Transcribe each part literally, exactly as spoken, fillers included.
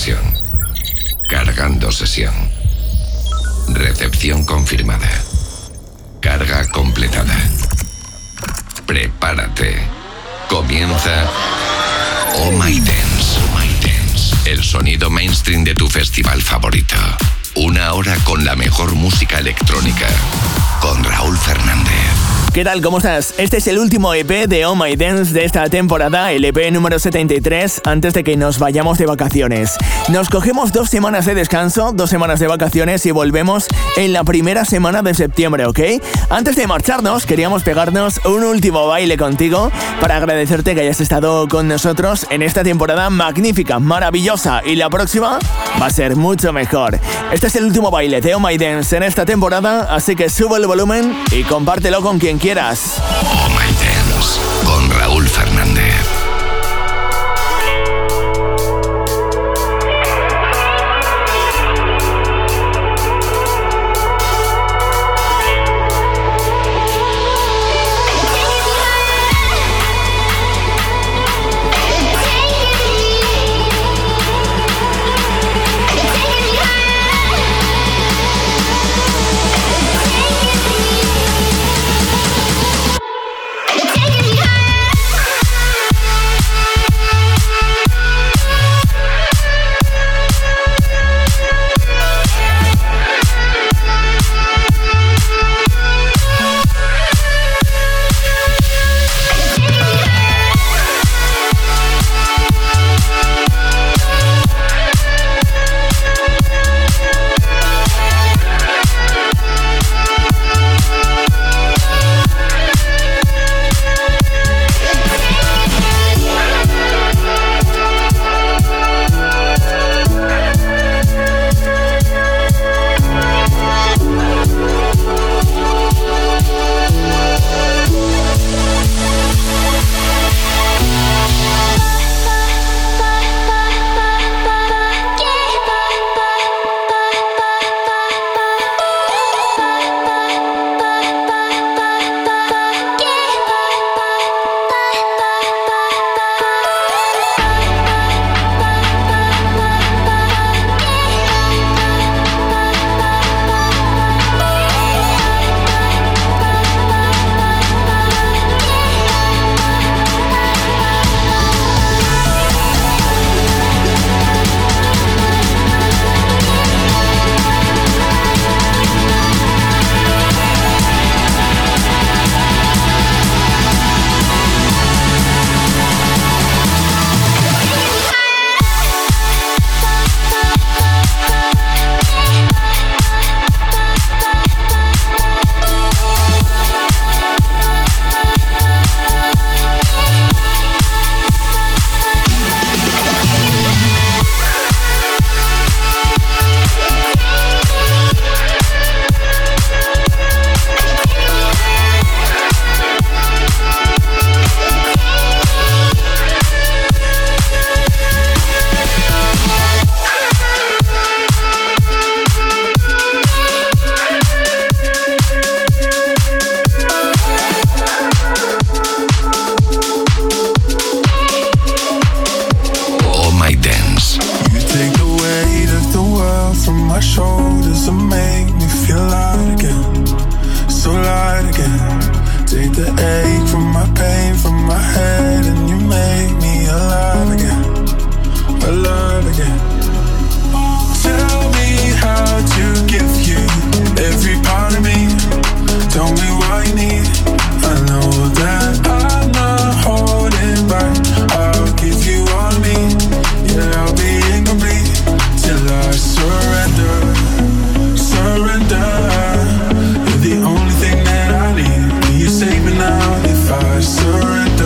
sesión. Cargando sesión. Recepción confirmada. Carga completada. Prepárate. Comienza Oh My Dance. Oh My Dance. El sonido mainstream de tu festival favorito. Una hora con la mejor música electrónica. Con Raúl Fernández. ¿Qué tal? ¿Cómo estás? Este es el último E P de Oh My Dance de esta temporada, el E P número setenta y tres, antes de que nos vayamos de vacaciones. Nos cogemos dos semanas de descanso, dos semanas de vacaciones y volvemos en la primera semana de septiembre, ¿ok? Antes de marcharnos, queríamos pegarnos un último baile contigo para agradecerte que hayas estado con nosotros en esta temporada magnífica, maravillosa, y la próxima va a ser mucho mejor. Este es el último baile de Oh My Dance en esta temporada, así que sube el volumen y compártelo con quien quieras. Oh My Dance con Raúl Fernández. You're the only thing that I need. Will you save me now if I surrender?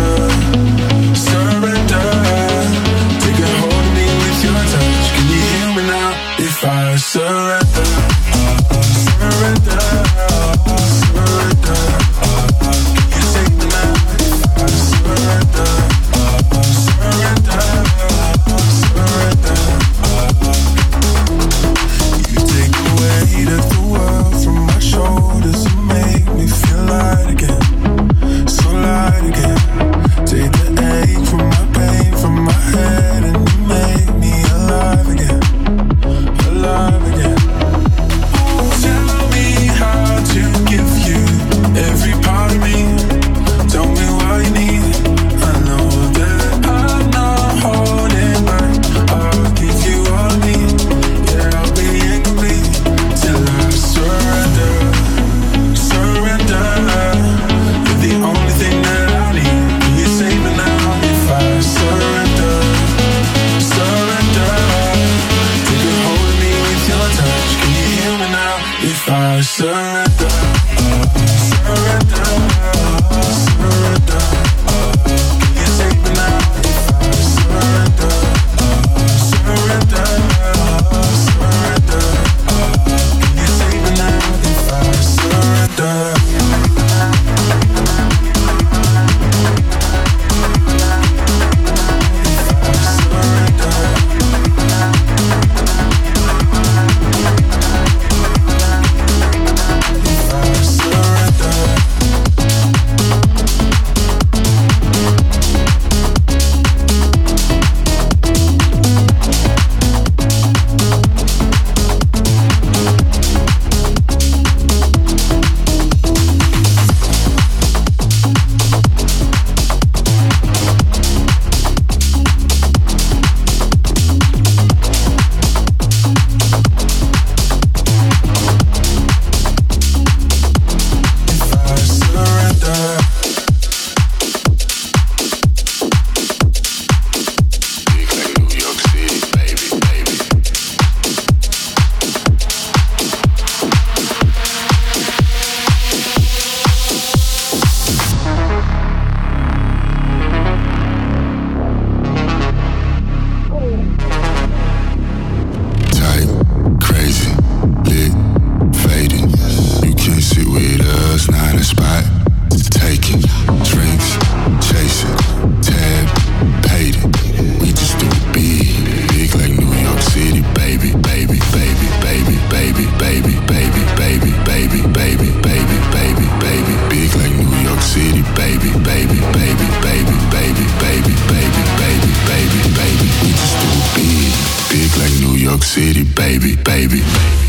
York City, baby, baby.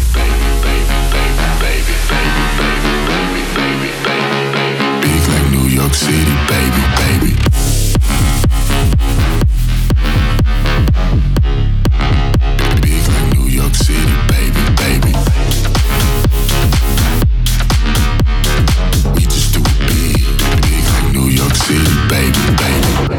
Big like New York City, baby, baby. Big like New York City, baby, baby. We just do it big, big like New York City, baby, baby.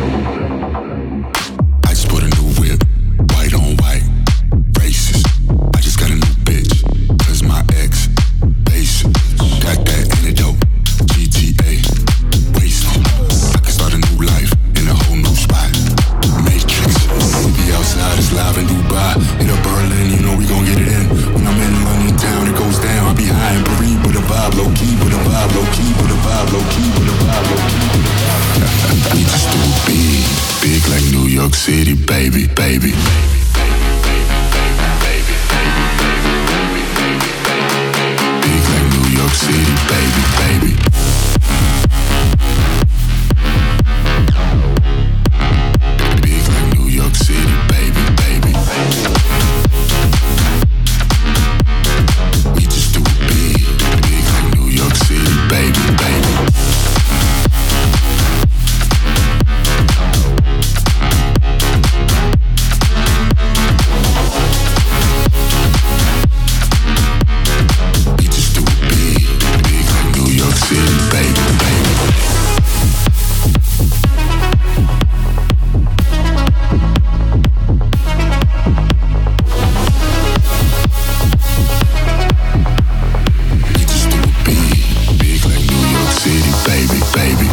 I just put a new whip, white on white, racist. I just got a new bitch, cause my ex, basic. Got that antidote, G T A, wasted. I can start a new life in a whole new spot, Matrix. We be outside, it's live in Dubai. Hit up Berlin, you know we gon' get it in. When I'm in London town, it goes down. I be high in Paris with a vibe, low key with a vibe, low key with a vibe, low key with a vibe, low key with a vibe. We just do it big, big like New York City, baby, baby. Big like New York City, baby, baby. Big like New York City, baby, baby. We just do it big, big like New York City, baby, baby. We just do it big, big like New York City, baby, baby. We just do it big, big like New York City, baby, baby.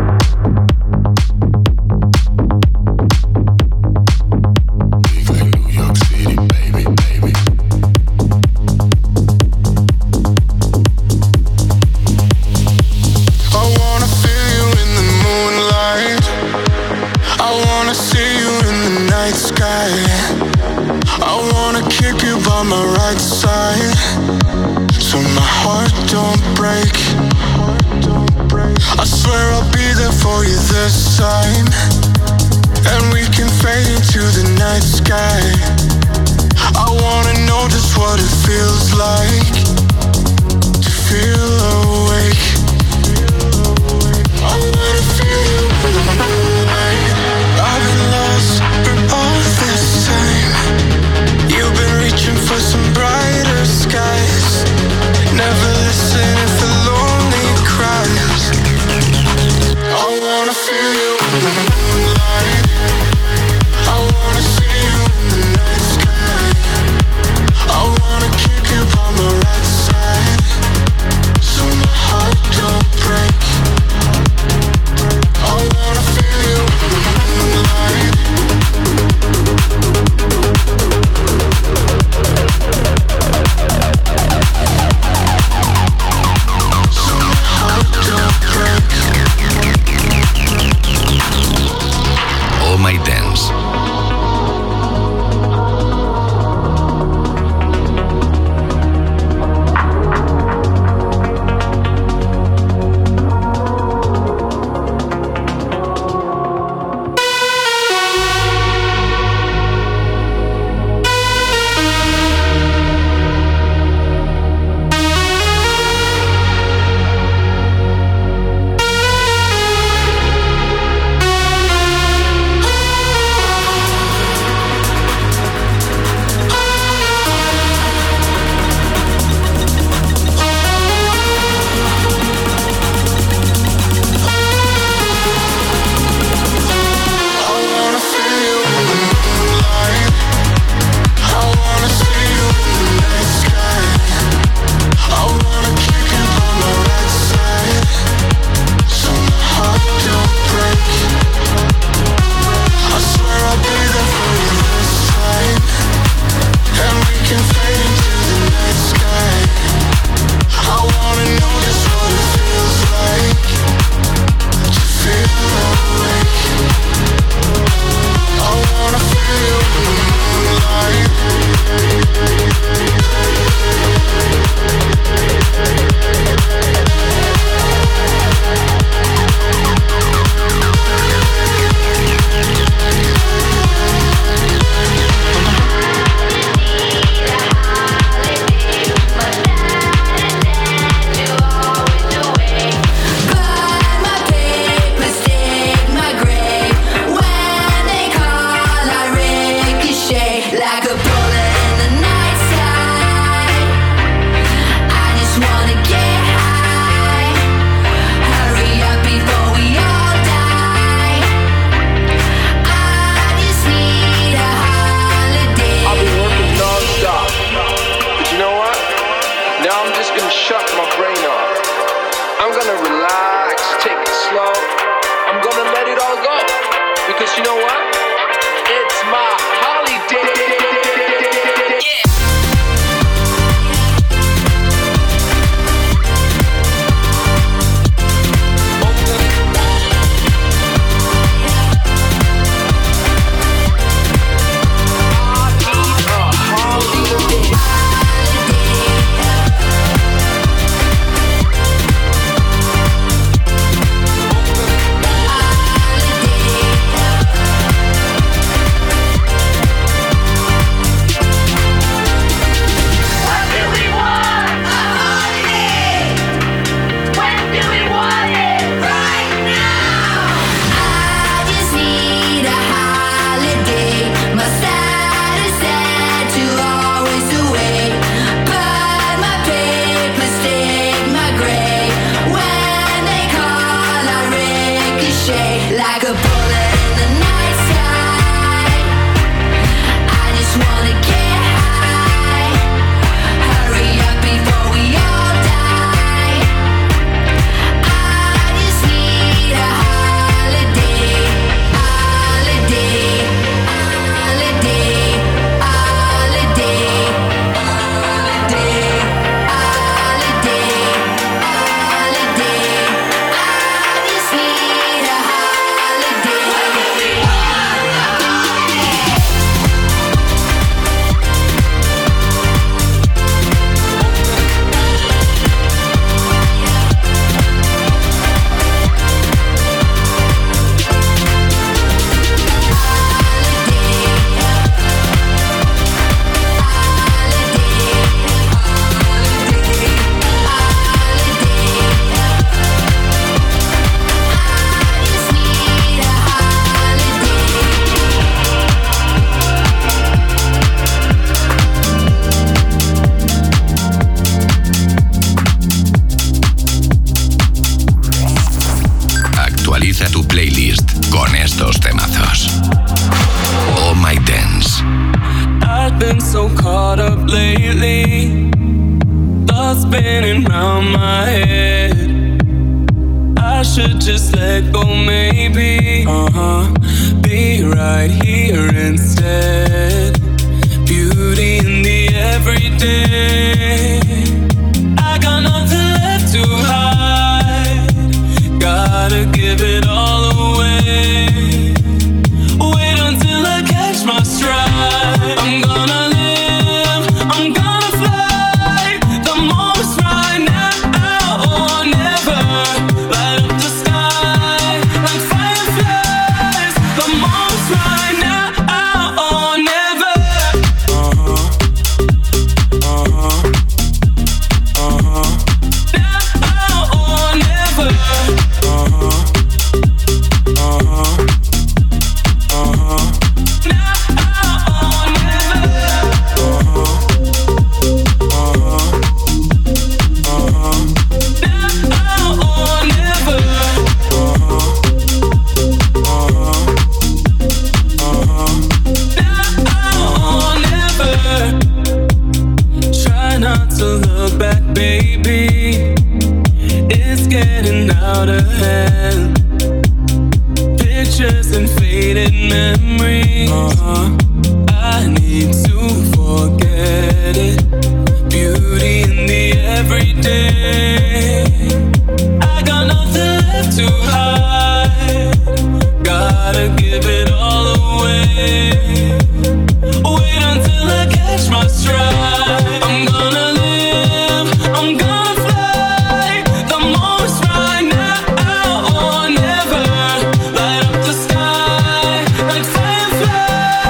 Big like New York City, baby, baby. I wanna feel you in the moonlight. I wanna see you in the night sky. I wanna keep you by my right side, so my heart don't break. I swear I'll be there for you this time, and we can fade into the night sky. I wanna know just what it feels like to feel awake. I wanna feel you in the moonlight. I've been lost for all this time. You've been reaching for some brighter skies. Never listening for lonely cries. I wanna feel you in the moonlight. I wanna see you in the night sky. I wanna keep you by my right you know what? It's my holiday. Like fireflies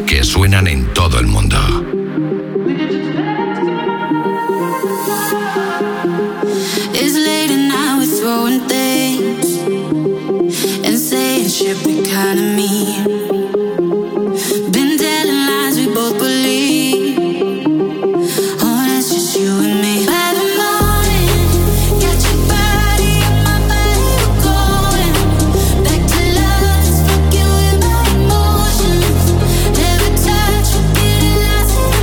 que suenan en todo el mundo. It's late and now we're throwing things and saying shit we kinda mean. Been telling lies we both believe. Oh, that's just you and me. By the morning, got your body and my body, we're going back to love that's fucking with my emotions. Every touch will be the last thing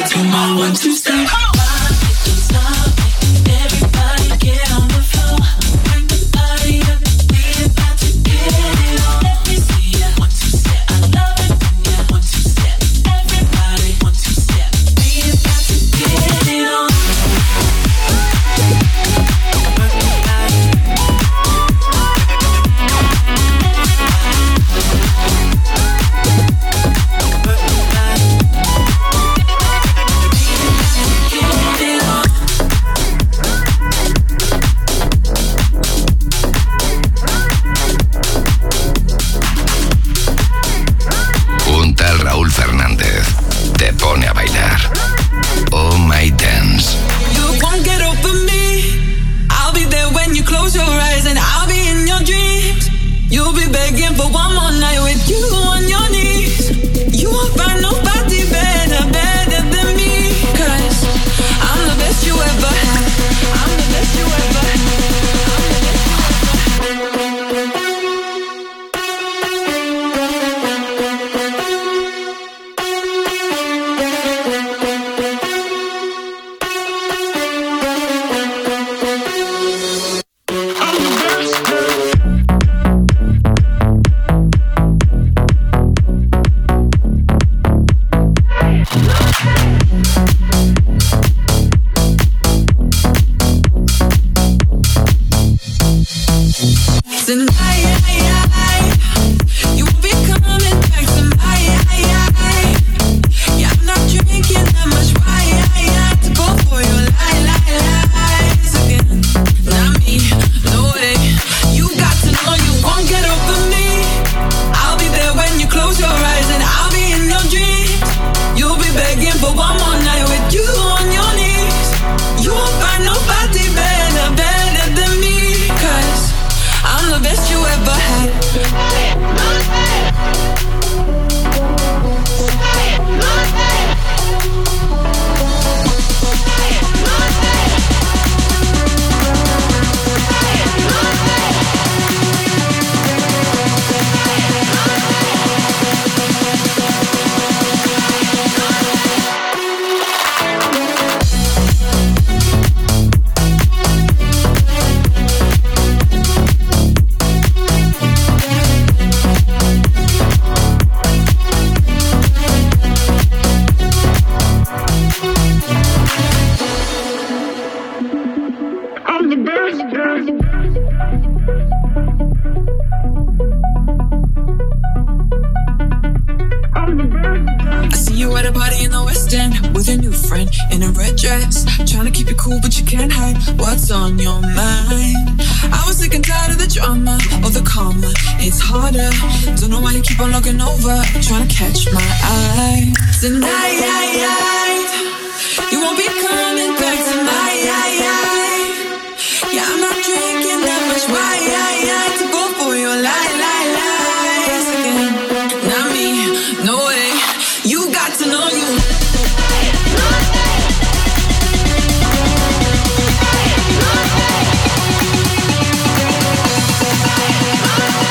to my one two step. Everybody get on the floor. Bring the party up. We about to get it on. Let me see ya. One two step. I love it when ya one two step. Everybody one two step. We about to get it on. Un tal Raúl Fernández te pone a bailar. Oh My Dance. You won't get over me. I'll be there when you close your eyes, and I'll be in your dreams. You'll be begging for one more night with you on your knees. You won't find nobody better, better than me. Cause I'm the best you ever had. I'm the best you ever had.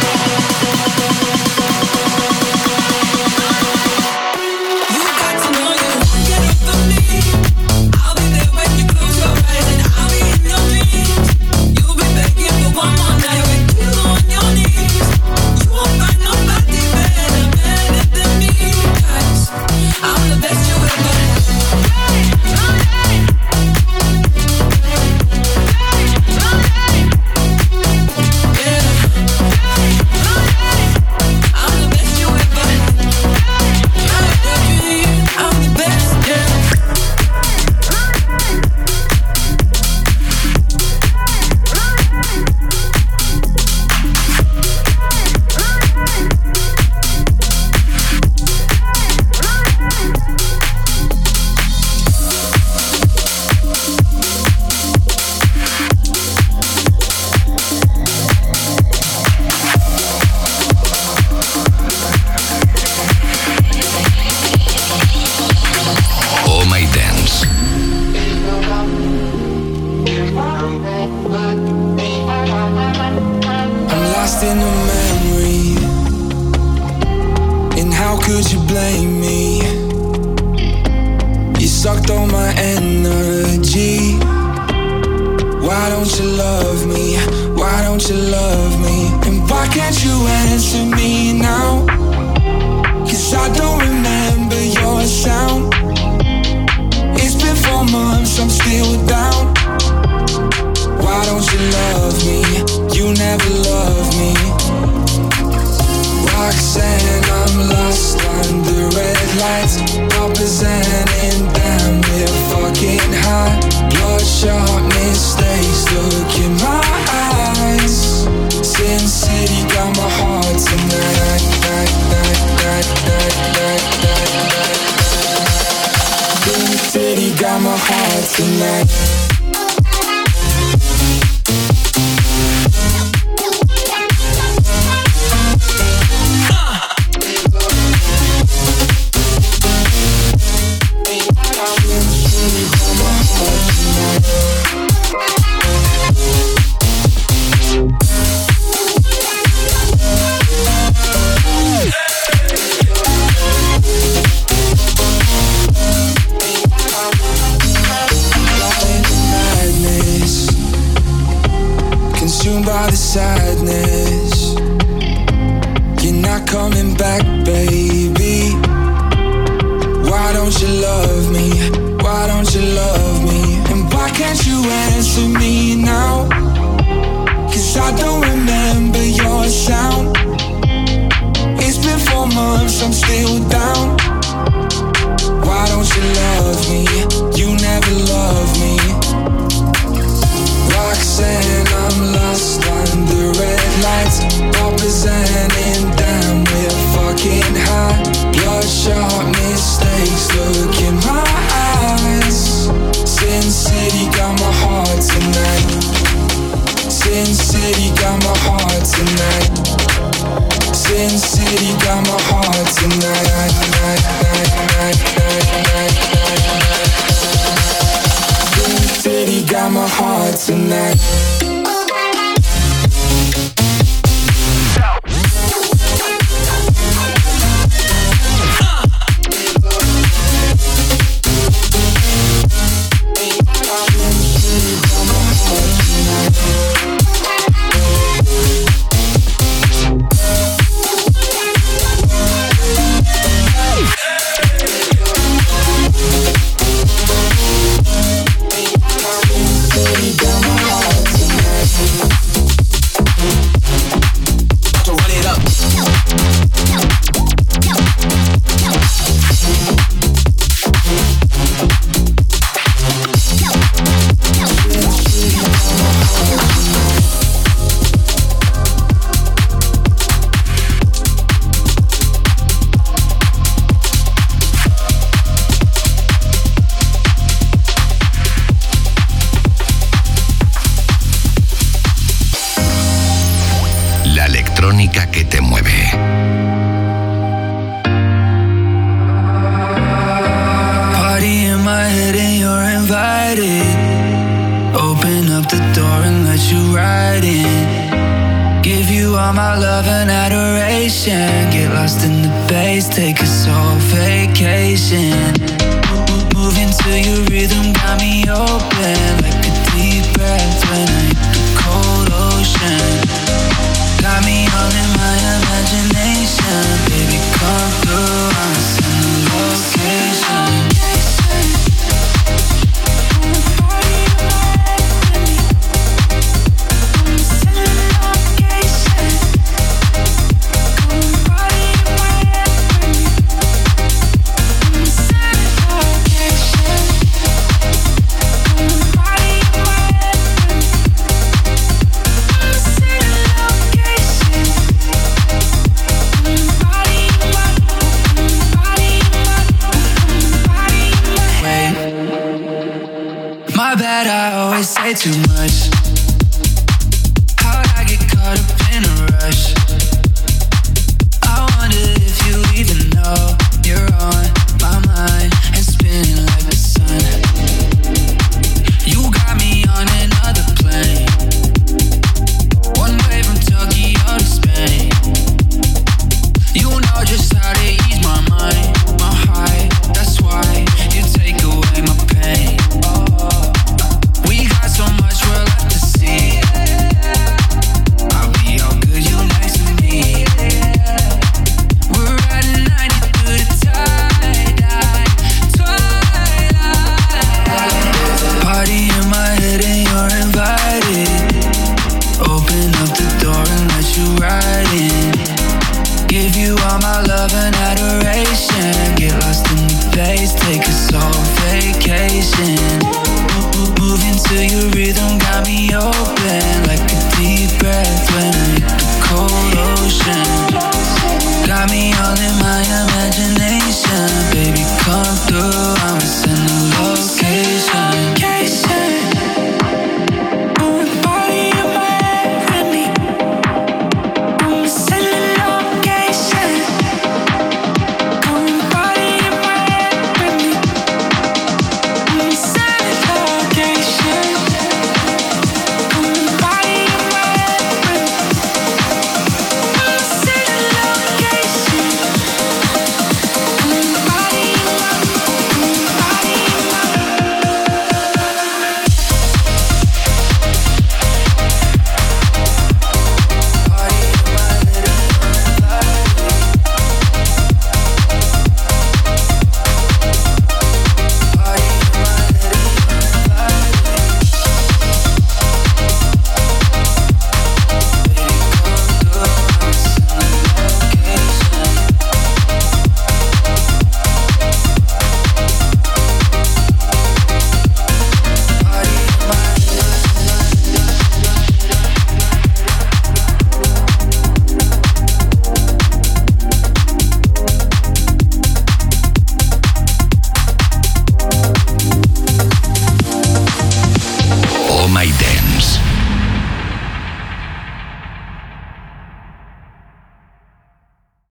To know sucked all my energy. Why don't you love me? Why don't you love me? And why can't you answer me now? Cause I don't remember your sound. It's been four months, I'm still down. Why don't you love me? You never loved me. Roxanne, I'm lost under red lights. Representing them, we're fucking high. Bloodshot mistakes, look in my eyes. Sin City got my heart tonight. Night, night, night, night, night, night, night. Sin City got my heart tonight. By the sadness, you're not coming back, baby. Why don't you love me? Why don't you love me? And why can't you answer me now? Cause I don't remember your sound. It's been four months, I'm still down. Why don't you love me? You never loved me. Roxanne, I'm lost under red lights. Representing them, we're fucking high. Bloodshot mistakes, look in my eyes. Sin City got my heart tonight. Sin City got my heart tonight. Sin City got my heart tonight. Night, night, night, night, night, night. Sin City got my heart tonight. Que te mueve. Party in my head and you're invited. Open up the door and let you right in. Give you all my love and adoration. Get lost in the bass, take a soul vacation. Moving to your rhythm got me open like a deep breath when I hit the cold ocean. Got me all in my imagination. Baby, come through, I'll send the location. Say too much. How'd I get caught up in a rush? I wonder if you even know you're on my mind and spinning like the sun. You got me on another plane. One way from Tokyo to Spain. You know just how to ease my mind, my heart. That's why you take away my on vacation. Moving to your rhythm got me open.